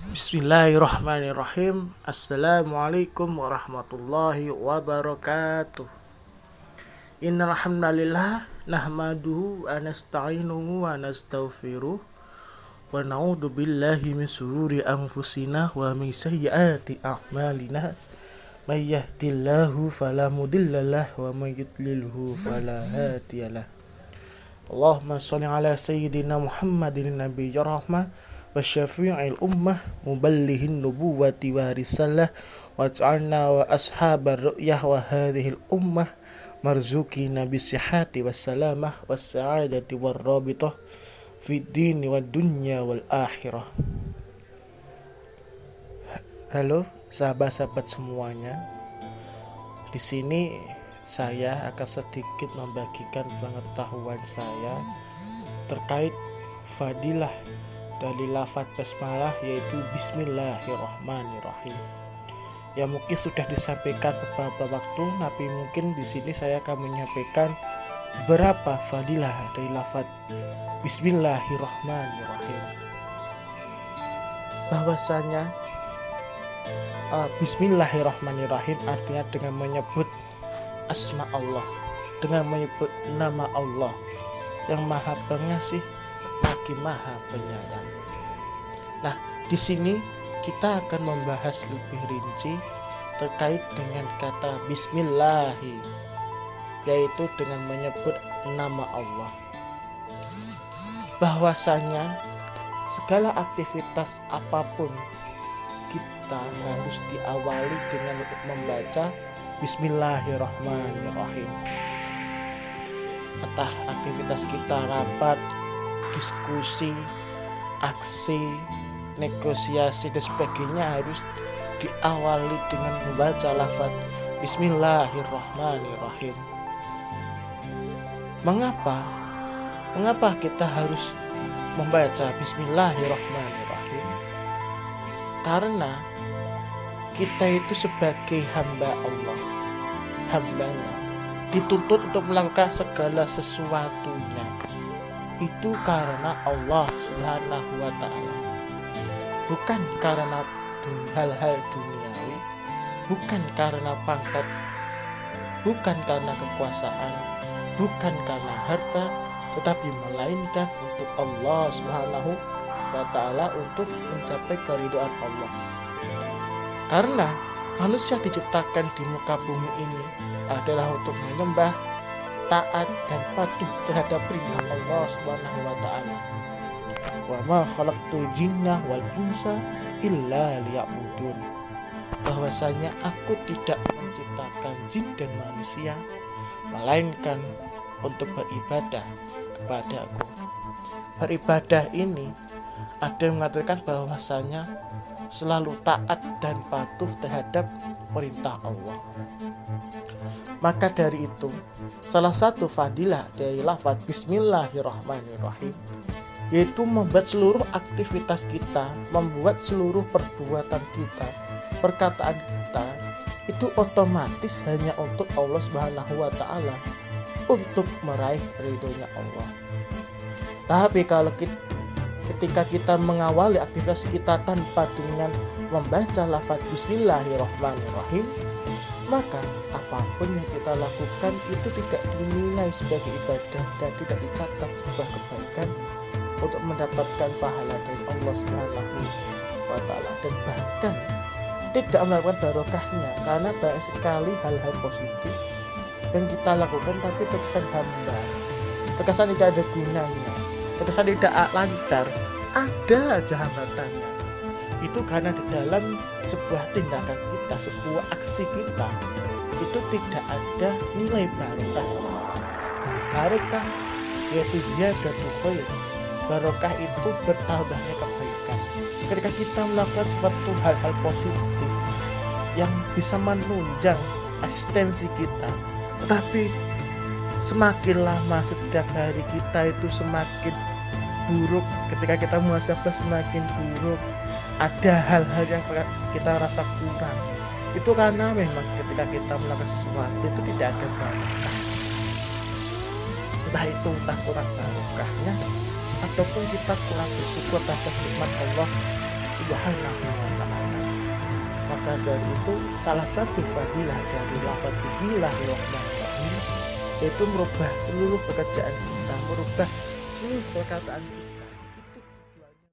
Bismillahirrahmanirrahim. Assalamualaikum warahmatullahi wabarakatuh. Innal hamdalillah nahmaduhu wa nasta'inuhu wa nastaghfiruh wa na'udzu billahi min shururi anfusina wa min sayyiati a'malina. May yahdihillahu fala mudhillalah wa may yudlilhu fala hadiyalah. Allahumma shalli ala sayyidina Muhammadin nabiyyi rahmah wa syafi'il ummah muballighin nubuwati wa risalah wa ja'alna wa ashabar ru'yah wa hadhil ummah marzuqina bisihhati wassalamah wassa'adati warrabitah fid dini wad dunya wal akhirah. Halo sahabat-sahabat semuanya. Di sini saya akan sedikit membagikan pengetahuan saya terkait fadilah dari lafaz basmalah, yaitu Bismillahirrahmanirrahim. Ya mungkin sudah disampaikan beberapa waktu, tapi mungkin di sini saya akan menyampaikan beberapa fadilah dari lafaz Bismillahirrahmanirrahim. Bahwasanya Bismillahirrahmanirrahim artinya dengan menyebut asma Allah, dengan menyebut nama Allah yang Maha Pengasih lagi Maha Penyayang. Nah, di sini kita akan membahas lebih rinci terkait dengan kata Bismillahi, yaitu dengan menyebut nama Allah. Bahwasanya segala aktivitas apapun kita harus diawali dengan membaca Bismillahirrahmanirrahim. Entah aktivitas kita rapat, diskusi, aksi, negosiasi dan sebagainya harus diawali dengan membaca lafaz Bismillahirrahmanirrahim. Mengapa kita harus membaca Bismillahirrahmanirrahim? Karena kita itu sebagai hamba Allah, hambanya, dituntut untuk melakukan segala sesuatunya itu karena Allah Subhanahu wa ta'ala, bukan karena hal-hal duniawi, bukan karena pangkat, bukan karena kekuasaan, bukan karena harta, tetapi melainkan untuk Allah Subhanahu wa ta'ala, untuk mencapai keridhaan Allah. Karena manusia diciptakan di muka bumi ini adalah untuk menyembah, taat dan patuh terhadap perintah Allah Subhanahu wa ta'ala. Wa ma khalaqtul jinna wal insa illa liya'budun. Bahwasanya aku tidak menciptakan jin dan manusia melainkan untuk beribadah kepada aku. Beribadah ini ada yang mengatakan bahwasanya selalu taat dan patuh terhadap perintah Allah. Maka dari itu, salah satu fadilah dari lafaz Bismillahirrahmanirrahim yaitu membuat seluruh aktivitas kita, membuat seluruh perbuatan kita, perkataan kita itu otomatis hanya untuk Allah Subhanahu wa ta'ala, untuk meraih ridhonya Allah. Tapi kalau ketika kita mengawali aktivitas kita tanpa dengan membaca lafaz Bismillahirrahmanirrahim, maka apapun yang kita lakukan itu tidak dinilai sebagai ibadah dan tidak dicatat sebagai kebaikan untuk mendapatkan pahala dari Allah Subhanahu wa ta'ala, dan bahkan tidak melakukan barokahnya, karena banyak sekali hal-hal positif yang kita lakukan tapi terkesan hambar, terkesan tidak ada gunanya, terkesan tidak lancar, ada aja hambatannya. Itu karena di dalam sebuah tindakan kita, sebuah aksi kita itu tidak ada nilai barokah. Barokah yaitu ziyadatul khair. Barokah itu bertambahnya kebaikan. Ketika kita melakukan suatu hal-hal positif yang bisa menunjang eksistensi kita, tetapi semakin lama setiap hari kita itu semakin buruk, ketika kita muhasabah semakin buruk, ada hal-hal yang kita rasa kurang. Itu karena memang ketika kita melakukan sesuatu itu tidak ada barokah. Entah kurang barokahnya ataupun kita kurang bersyukur terhadap nikmat Allah Subhanahu wa ta'ala. Maka dari itu salah satu fadilah dari lafaz Bismillahirrahmanirrahim yaitu merubah seluruh pekerjaan kita, merubah seluruh perkataan kita.